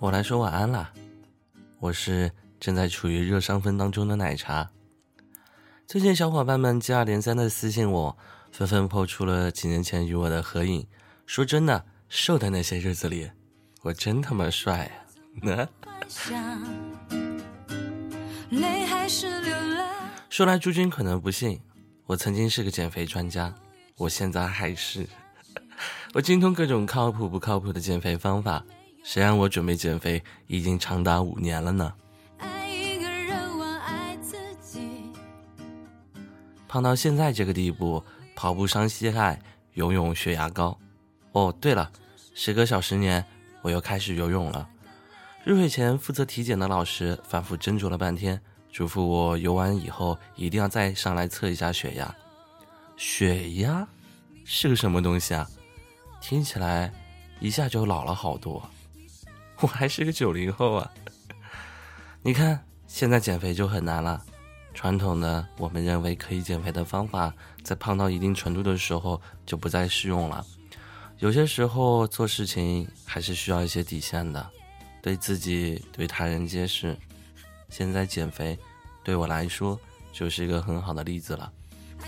我来说晚安啦，我是正在处于热伤风当中的奶茶。最近小伙伴们接二连三的私信我，纷纷抛出了几年前与我的合影。说真的，瘦的那些日子里，我真他妈帅啊！说来诸君可能不信，我曾经是个减肥专家，我现在还是。我精通各种靠谱不靠谱的减肥方法，谁让我准备减肥已经长达5年了呢？胖到现在这个地步，跑步伤膝盖，游泳血压高。哦，对了，时隔小10年，我又开始游泳了。入睡前负责体检的老师反复斟酌了半天，嘱咐我游完以后一定要再上来测一下血压。血压是个什么东西啊？听起来一下就老了好多。我还是个90后啊。你看现在减肥就很难了，传统的我们认为可以减肥的方法，在胖到一定程度的时候就不再适用了。有些时候做事情还是需要一些底线的，对自己对他人皆是。现在减肥对我来说就是一个很好的例子了。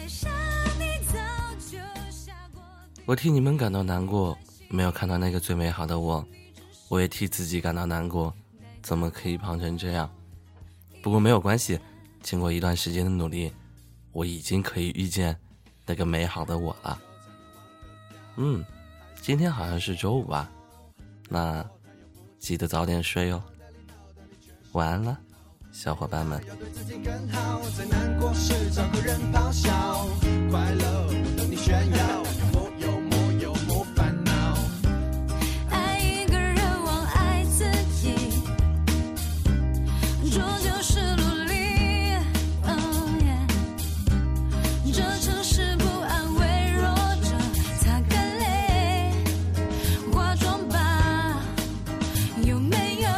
我替你们感到难过，没有看到那个最美好的我，我也替自己感到难过，怎么可以胖成这样？不过没有关系，经过一段时间的努力，我已经可以遇见那个美好的我了。今天好像是周5吧，那记得早点睡哦。晚安了，小伙伴们。要对自己更好，最难过时找个人咆哮，快乐等你炫耀，莫有烦恼。爱一个人忘爱自己，这就是努力。这城市不安，微弱着擦干泪，化妆吧，有没有？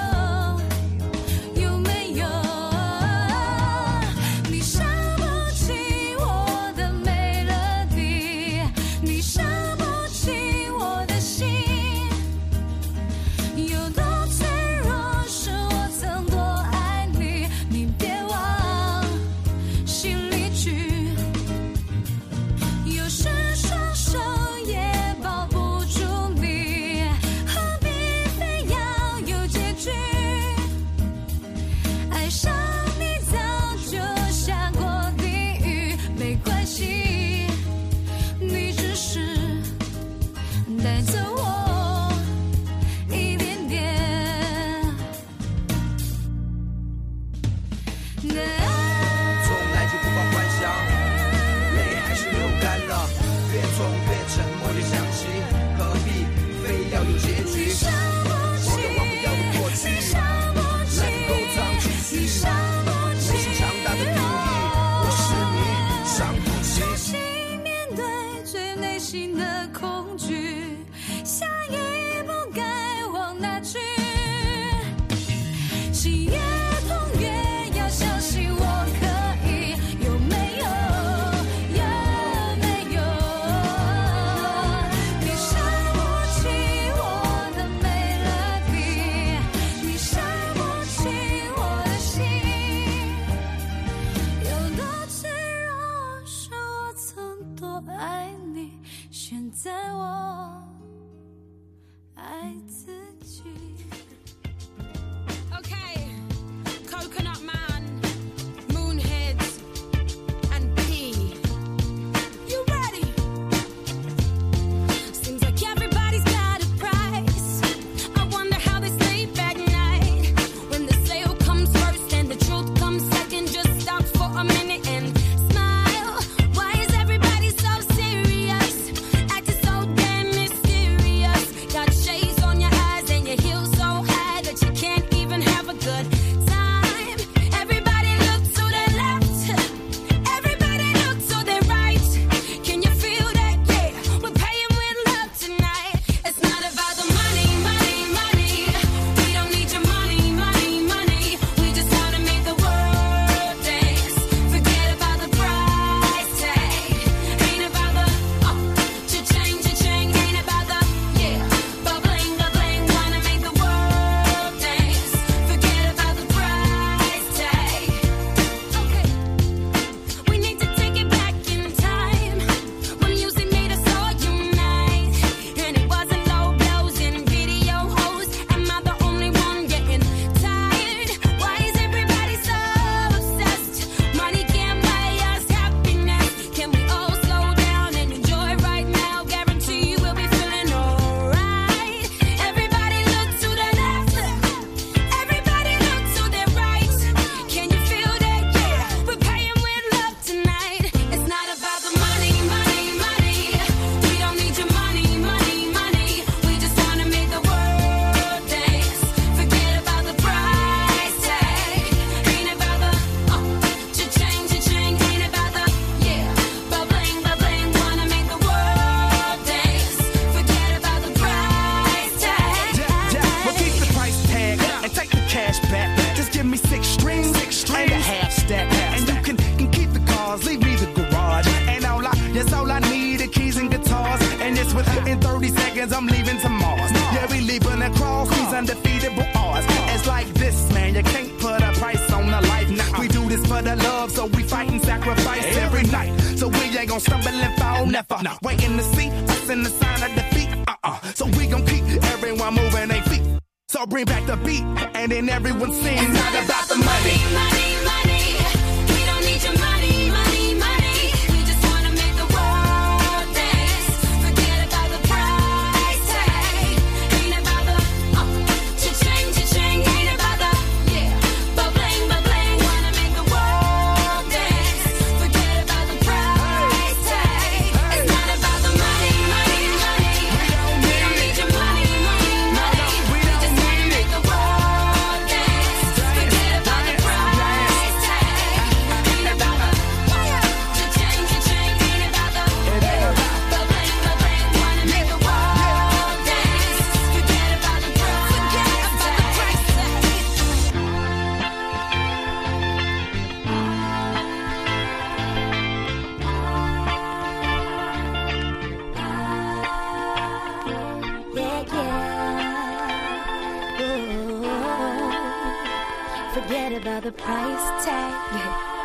带走我一点点，从来就不怕幻想，泪还是流干了，越痛越沉默越想起，何必非要有结局？我都忘不掉的过去，来不够藏继续，内心强大的定义，我是你，伤不起。面对最内心的恐惧，下一步该往哪去？心越痛越要相信我可以，有没有？有没有？你伤不起我的美乐蒂，你伤不起我的心，有多脆弱是我曾多爱你，现在我 for the love, so we fight and sacrifice every night. So we ain't gon' stumble and fall, never. Waiting to see us in the sign of defeat. So we gon' keep everyone moving their feet. So bring back the beat, and then everyone sings. It's not about the money. Money, money. We don't need your money, money, money. We just wanna make the world dance. Forget about the price tag. Ain't about the cha-ching, cha-ching. Ain't about the ba-bling, ba-bling. Wanna make the world dance. Forget about the price tag. It's not about the money, money, money. We don't need your money, money, money. We just wanna make the world dance. Forget about the price tag. Ain't about the cha-ching, cha-ching. Ain't about the ba-bling, ba-bling. Wanna make the world dance. Forget about the price tag. Forget about the price tag.